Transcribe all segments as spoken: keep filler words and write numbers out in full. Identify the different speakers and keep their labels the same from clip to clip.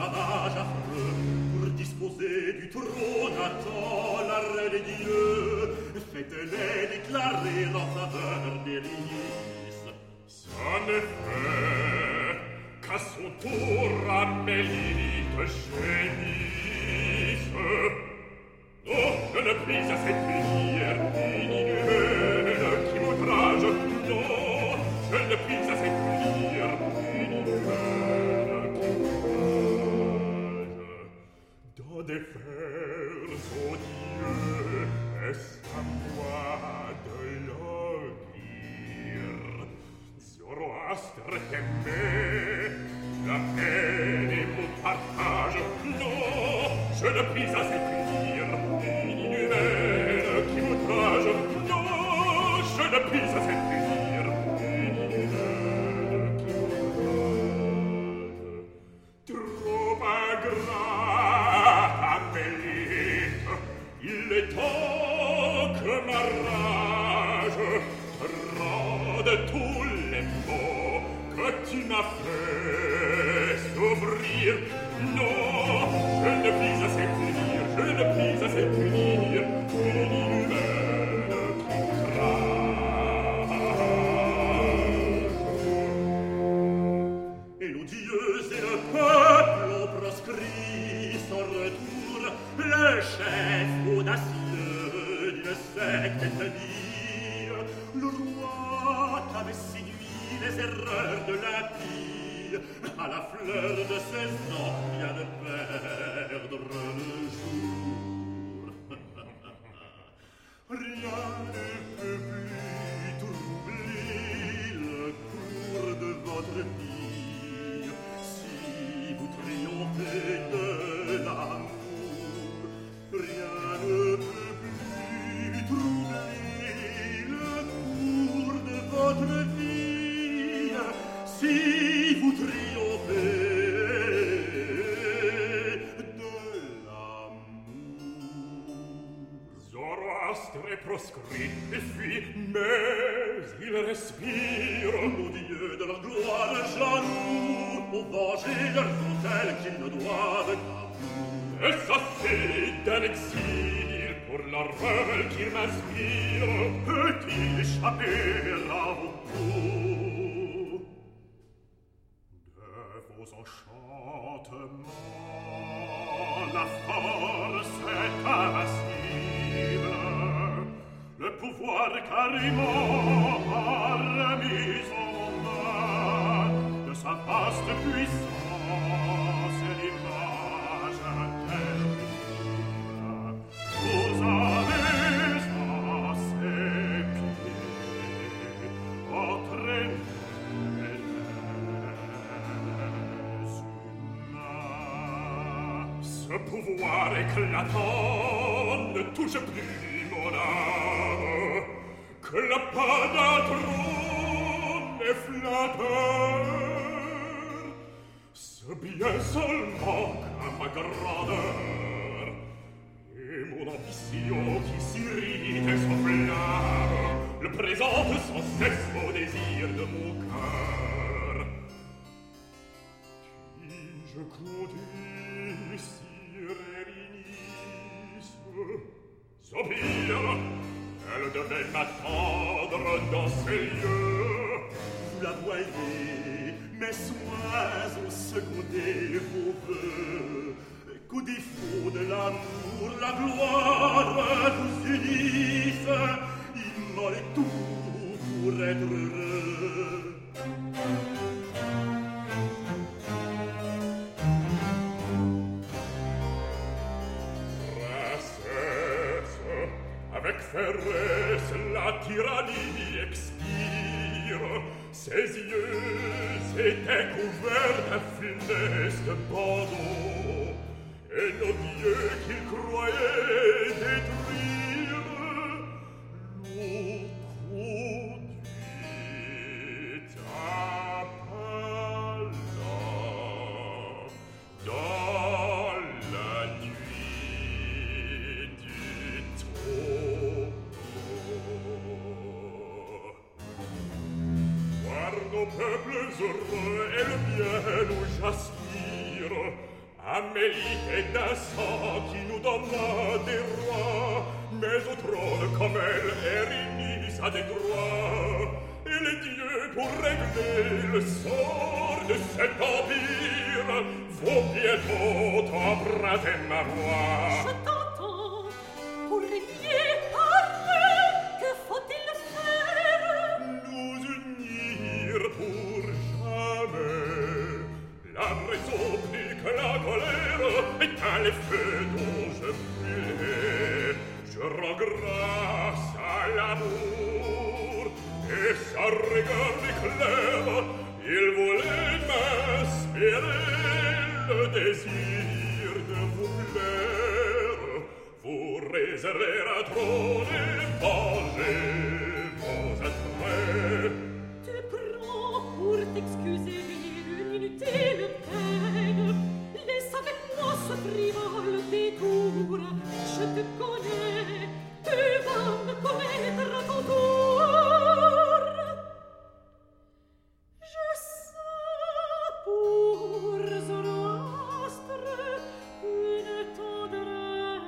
Speaker 1: esclavage affreux, pour disposer du trône à temps la reine des dieux, faites-les déclarer en faveur d'Hélice.
Speaker 2: Ça n'est fait qu'à son tour Amélie te gémisse. Oh, je ne puis assez punir une inhumaine qui m'outrage. Non, je ne puis assez punir une inhumaine qui m'outrage. Dans des fers, oh Dieu, est-ce à moi de le dire? Zoroastre t'aimait, la haine est mon partage. Non, je ne puis assez punir une inhumaine qui m'outrage. Non, je ne puis assez punir une inhumaine qui m'outrage. Trop ingrate, Amélite, il est temps que ma rage rende tous les maux que tu m'as fait souffrir. Non, je ne puis assez punir, je ne puis assez punir une inhumaine qui m'outrage.
Speaker 1: Et l'odieuse et le peuple ont proscrit son retour, le chef audacieux d'une secte établie. Le roi t'avait séduit les erreurs de l'impie, à la fleur de ses ans vient de perdre le jour. Rien ne peut plus troubler le cours de votre vie, si vous triomphez de l'amour. Rien ne peut plus troubler le cours de votre vie, si vous triomphez de l'amour.
Speaker 2: Zoroastre est proscrit et fuit, mais il respire.
Speaker 1: Ô Dieu de leur gloire, jaloux, pour venger leurs autels qu'ils ne doivent qu'à vous.
Speaker 2: Et ça c'est d'un exil pour la rebelle qu'il m'inspire.
Speaker 1: Peut-il échapper à vos coups? De vos enchantements, la force est invincible. Le pouvoir carrément a remis en main de sa vaste puissance et l'image terrible. Vous avez à ses pieds entraîné les humains.
Speaker 2: Ce pouvoir éclatant ne touche plus mon âme, que la pas d'un trône est flatteur. Ce bien seulement qu'à ma grandeur et mon ambition qui s'irrite et s'enflamme le présente sans cesse au désir de mon cœur. Puis-je compter sur Hélice? Soupir, elle devait m'attendre dans ces lieux.
Speaker 1: Vous la voyez, mes soins ont secondé vos vœux, qu'au défaut de l'amour, la gloire vous unisse. Immolez tout pour être heureux.
Speaker 2: Princesse, avec ferresse la tyrannie expire. Ses yeux étaient couverts d'un funeste bandeau, et nos dieux qu'il croyait détruire l'ont conduit à Palas dans la nuit du tombeau. Voir nos peuples heureux et le bien où j'aspire, Amélie est d'un sang qui nous donna des rois, mais au trône comme elle est réunisse à des droits. Et les dieux, pour régler le sort de cet empire, vont bientôt emprunter ma voix.
Speaker 3: Je t'entends, pour régner par eux, que faut-il faire?
Speaker 2: Nous unir pour jamais. La raison plus que la colère est à l'effet dont je brûlais. Je rends grâce à l'amour et sa rigueur m'éclaire. Il voulait m'inspirer le désir de vous plaire. Vous réserver un trône et venger vos attraits.
Speaker 3: Tu prends pour t'excuser une inutile peine. Laisse avec moi ce frivole détour. Je te connais, tu vas me connaître à ton tour. Je sais pour Zoroastre une tendresse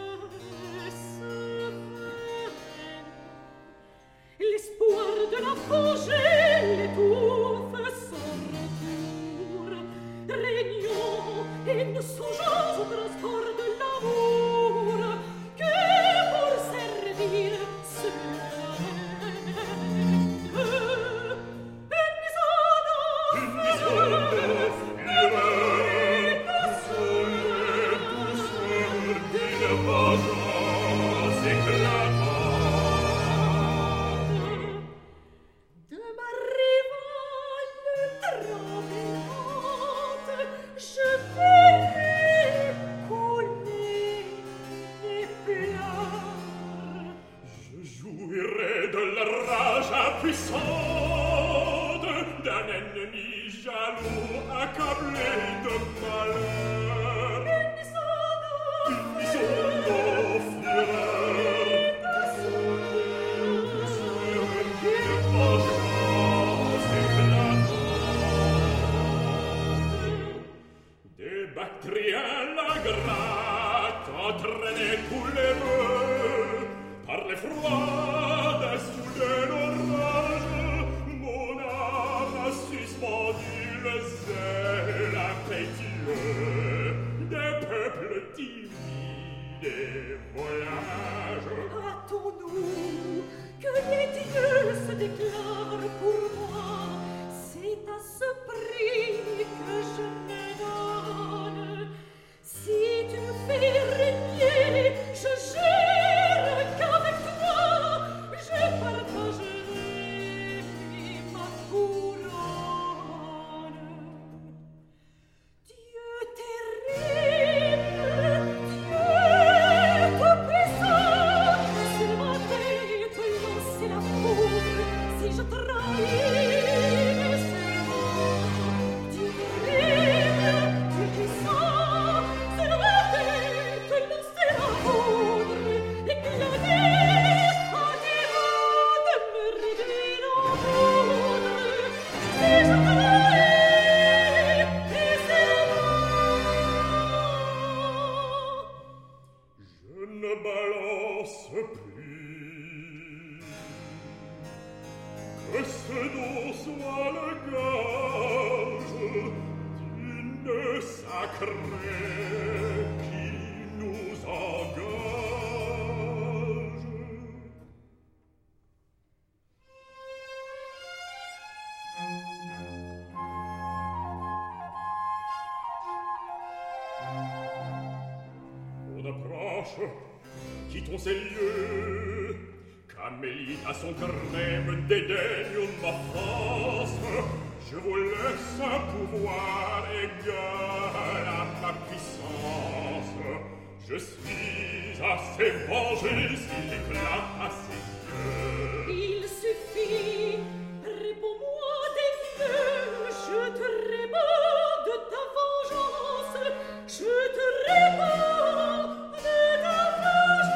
Speaker 3: vaine. L'espoir de la venger l'étouffe sans retour. Régnons et nous songeons au transport de l'amour que pour servir ce
Speaker 2: d'un ennemi jaloux accablé de malheur. Unissons nos fureurs sur une vengeance éclatante. Des Bactriens la gratte entraînait tous les vœux par l'effroi d'un soudain orage. Suspendu le zèle impétueux des peuples timides et voyages.
Speaker 3: Hâtons-nous que les dieux se déclarent pour moi. C'est à ce prix que je me donne. Si tu me fais régner, je jure qu'avec toi je partagerai ma couronne.
Speaker 2: Quittons ces lieux, qu'Amélie à son gré me dédaigne ma France. Je vous laisse un pouvoir égal à ma puissance. Je suis assez vengé s'il éclate à ses yeux.
Speaker 3: Il suffit, réponds-moi des dieux, je te réponds de ta vengeance, je te réponds de ta vengeance.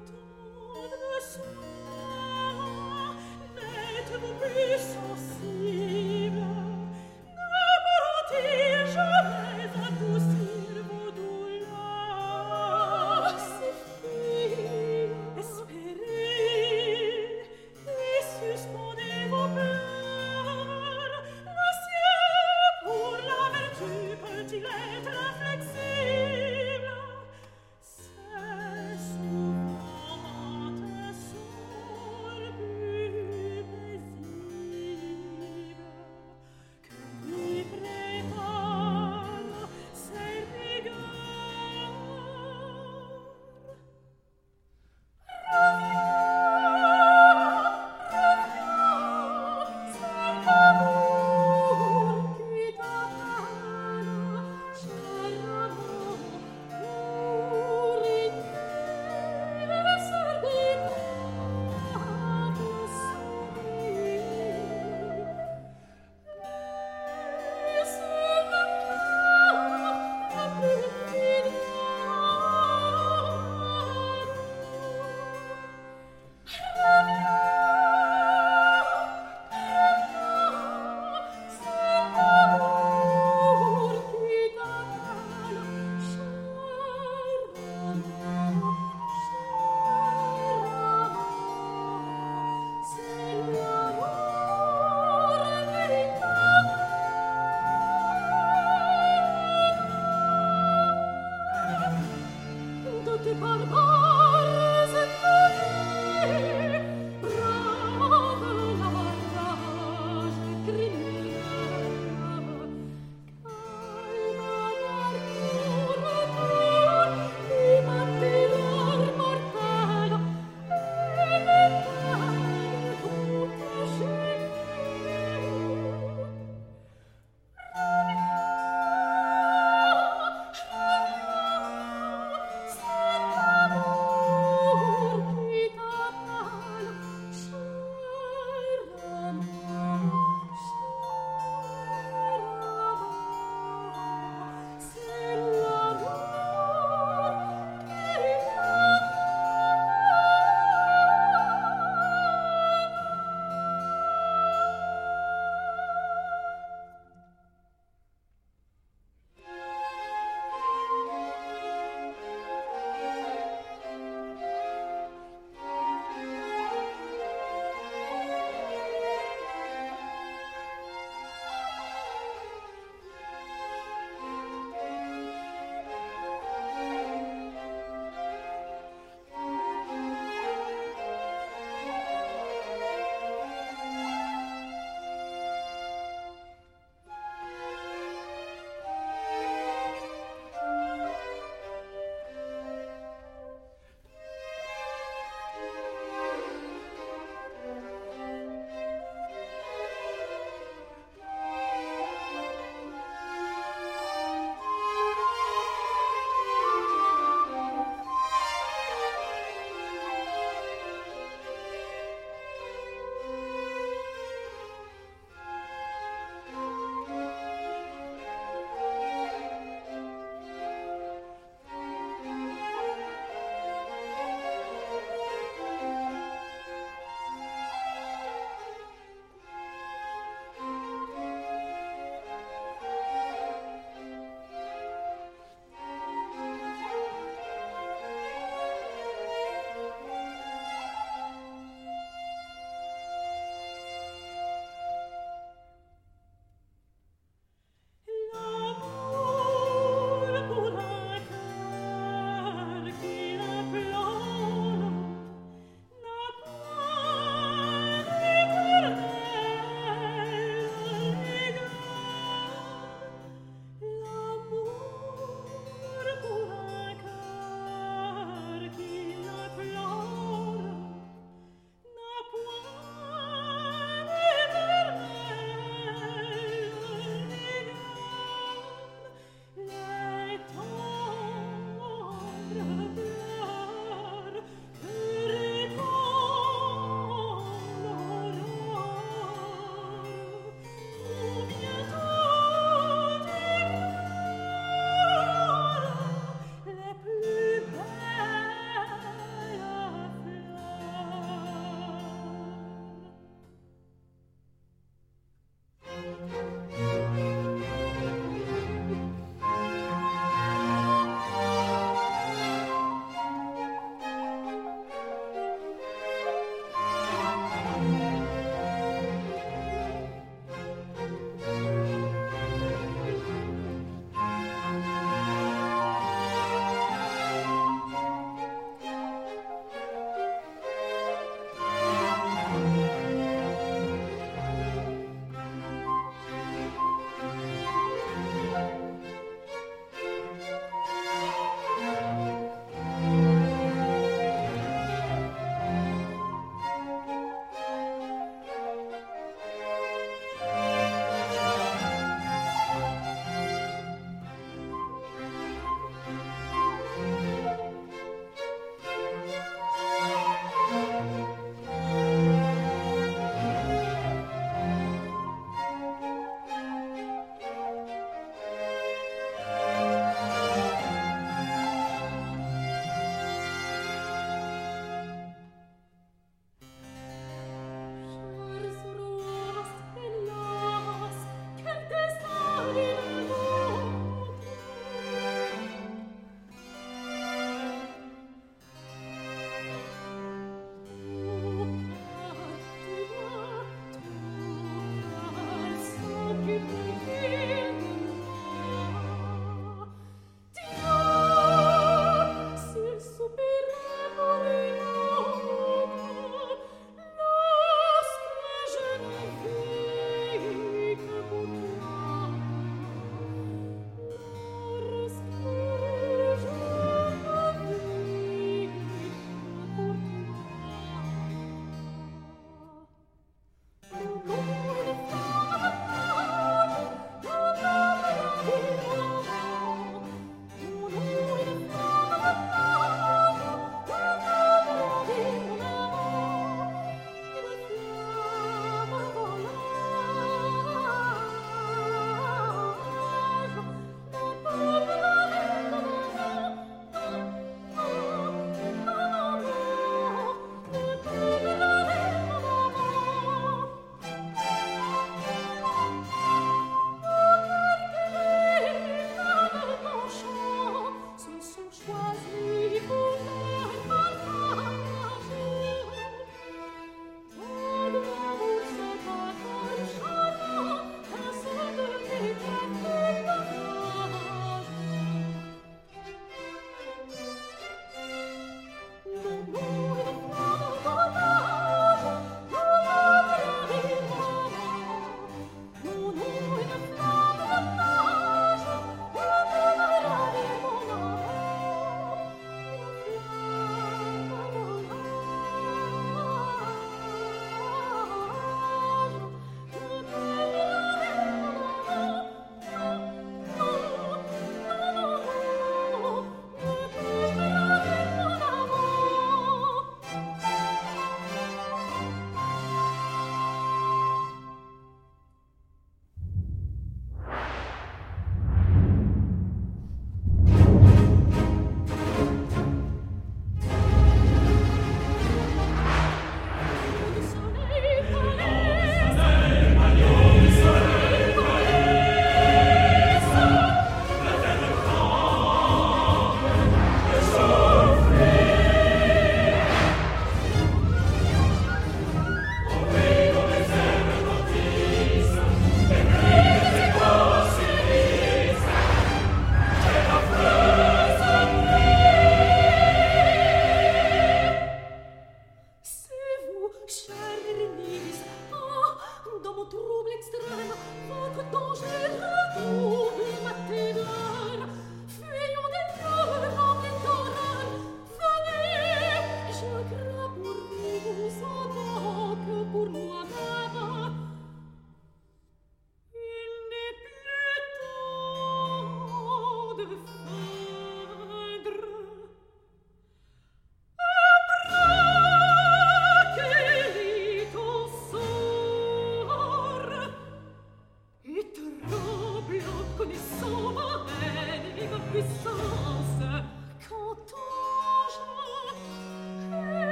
Speaker 3: C'est souvent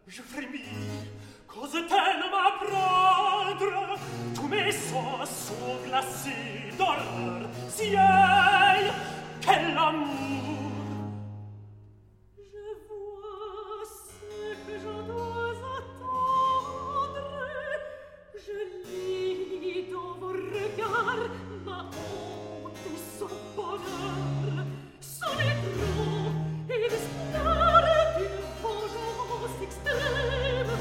Speaker 2: je frémis, cause-t-elle m'apprendre? Tous mes sens sont glacés d'horreur, si aïe, quel amour!
Speaker 3: Je vois ce que je dois attendre, je lis dans vos regards ma honte ou son bonheur, son étrange et l'espoir d'une vengeance extrême,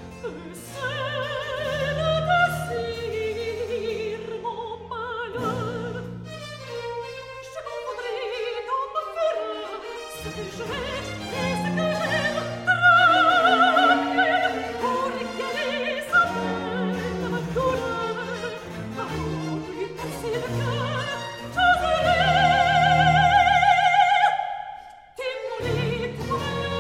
Speaker 3: c'est le désir, mon malheur. Je confondrai dans ma fureur ce que je hais et ce que j'aime, tremble pour égaler sa peine, ma douleur, avant de lui percer le cœur, j'oserai t'immoler pour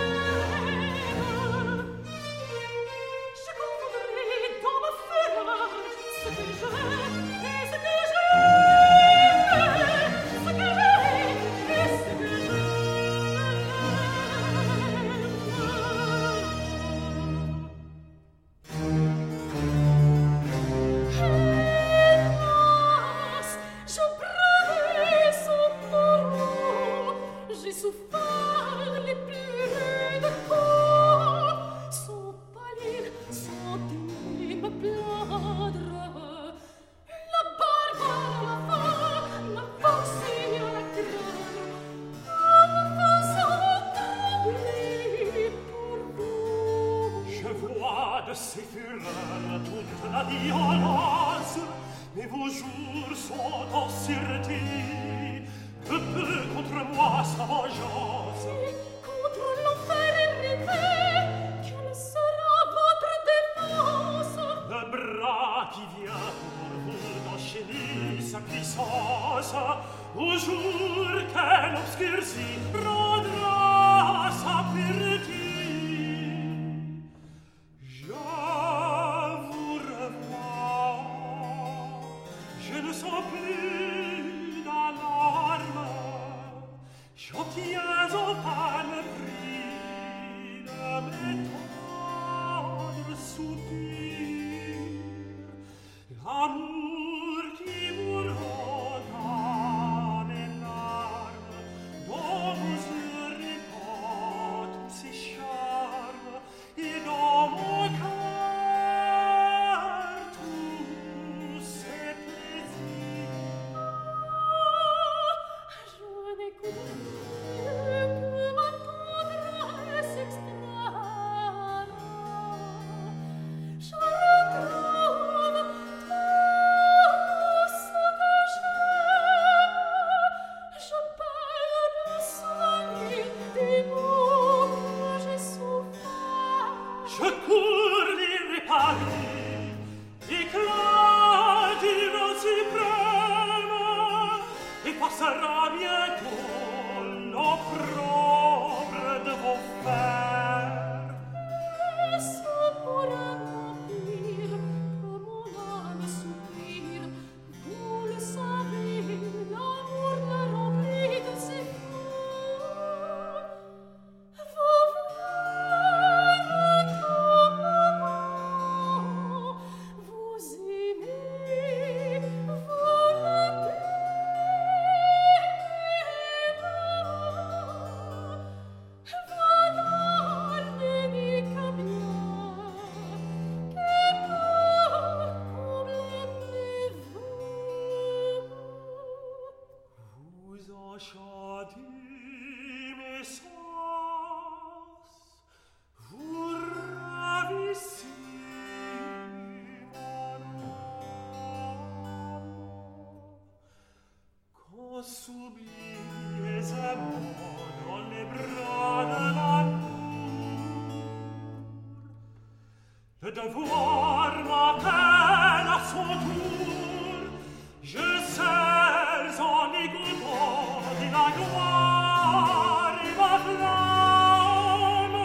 Speaker 3: elle. Je confondrai dans ma fureur ce que je hais et ce que j'aime, ce que je hais et ce que Hélas, je bravais son courroux, j'ai souffert les plus rudes coups, son pâlir, son dé me plaindre, la barbare la faim m'a forcé à la craindre, en me faisant trembler pour vous.
Speaker 2: Je vois de ces fureurs toute la violence, mais vos jours sont en sûreté. Que peut contre moi sa vengeance?
Speaker 3: Et contre l'enfer arrivé, quelle sera votre défense?
Speaker 2: Le bras qui vient pour vous d'enchaîner sa puissance, au jour qu'elle obscurcit, rendra sa pureté. Je vous revois, je ne sens plus d'alarme, j'obtiens enfin le prix de mes tendres soupirs. L'amour qui vous redonne les larmes, dont vos yeux répandent tous ces charmes, et dans mon cœur tous ces plaisirs.
Speaker 3: Je n'écoute plus que ma tendresse extrême. Je retrouve tout ce que j'aime. Je perds le soleil des maux que j'ai souffert.
Speaker 2: Je cours les réparer, éclat d'union suprême, et passera bientôt l'opprobre de vos fers.
Speaker 3: Est-ce pour un empire que mon âme soupire? Vous le savez, l'amour me remplit de ses fous. Vous voulez comme moi, vous aimez, vous voilà l'unique bien que peut combler mes vœux.
Speaker 2: Vous enchantez mes sens, vous ravissez mon âme. Quand s'oubliez amour dans les bras de l'amour, le devoir m'appelle à son tour, je serre en égouttant de la gloire et ma flamme.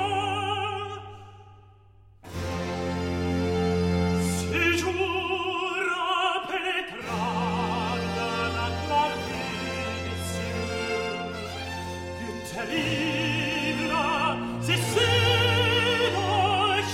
Speaker 2: Si jour impénétrable de la clarté des cieux, du terrible et sud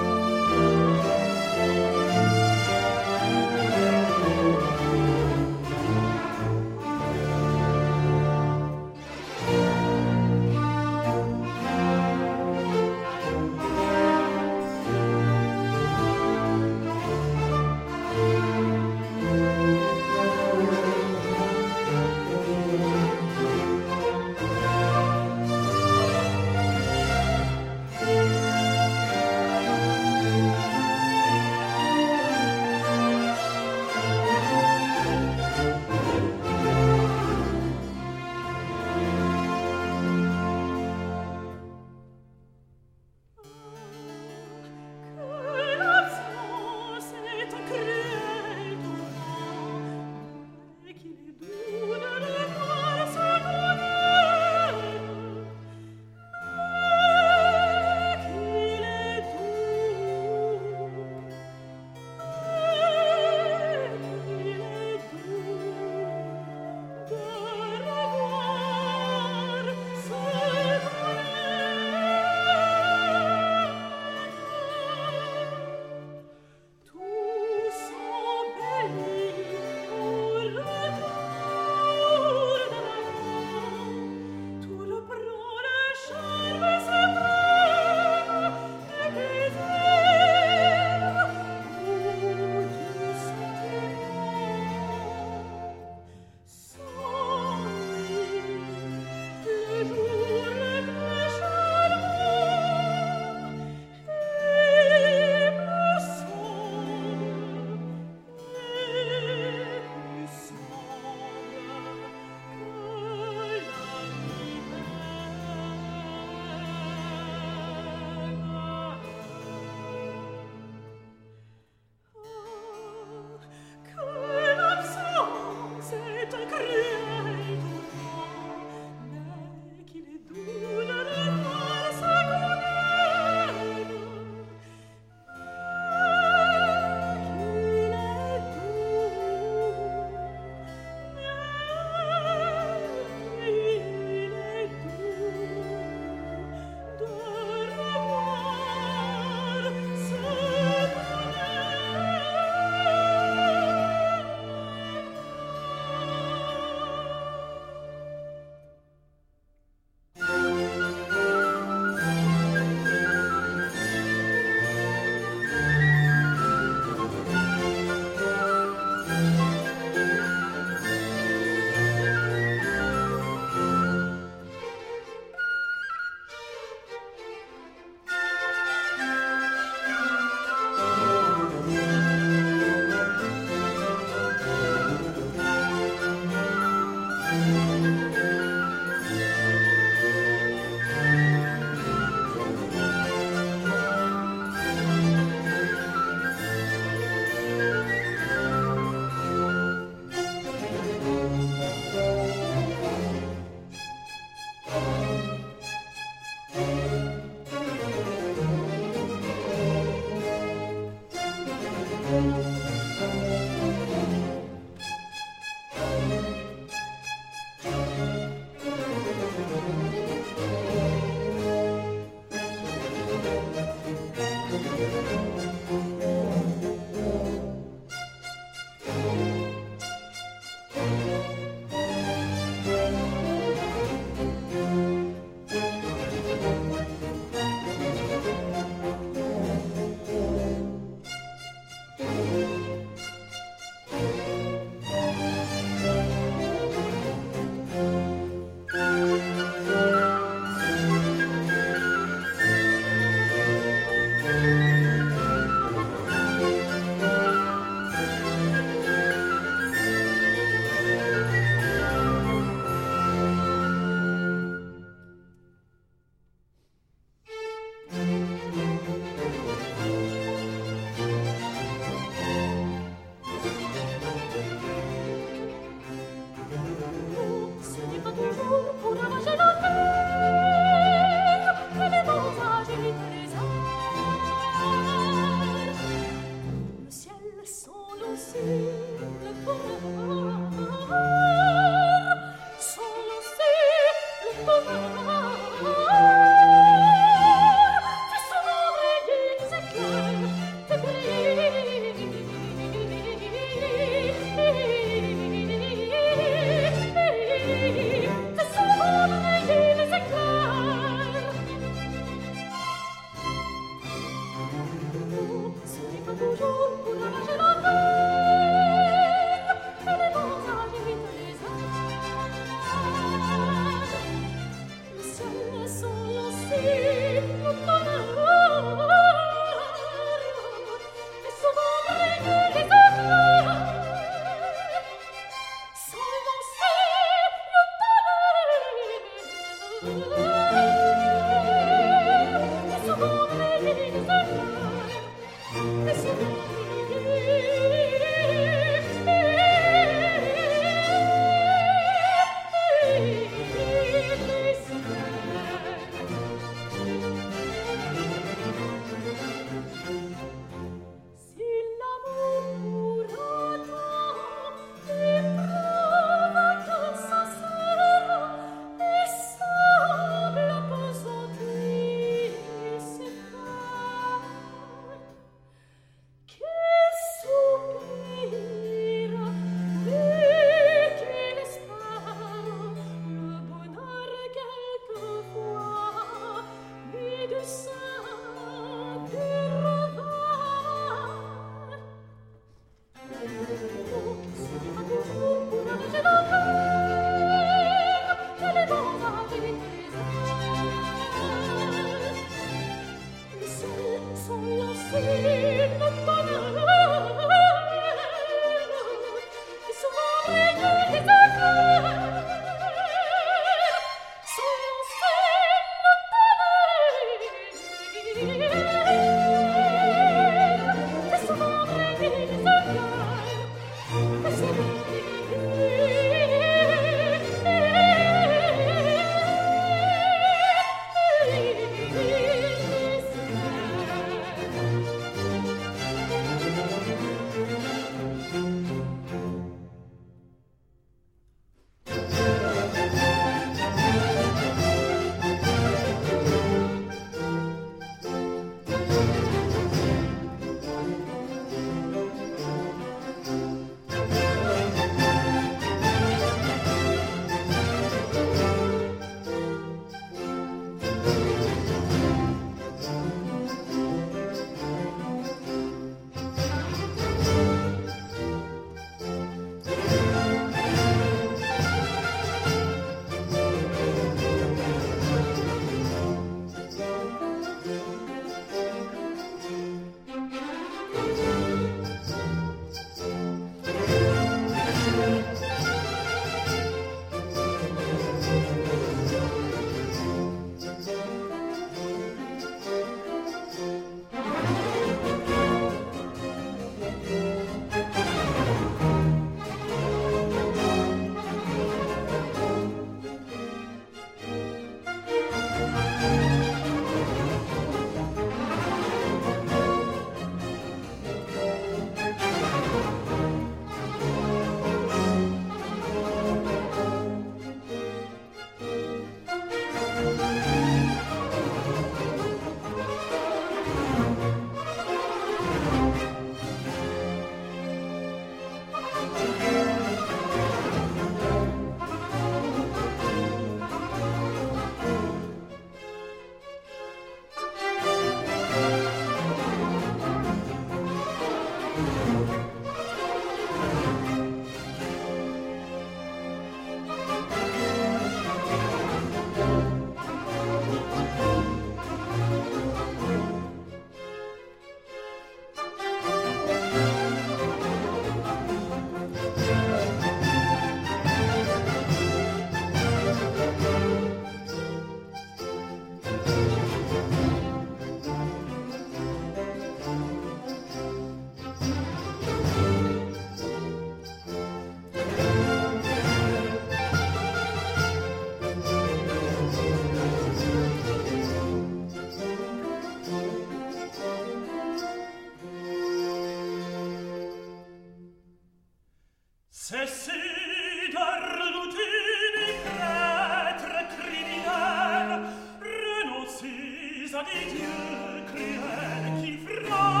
Speaker 1: C'est si de redoutine prêtre criminel, renoncis à des dieux cruels qui frappent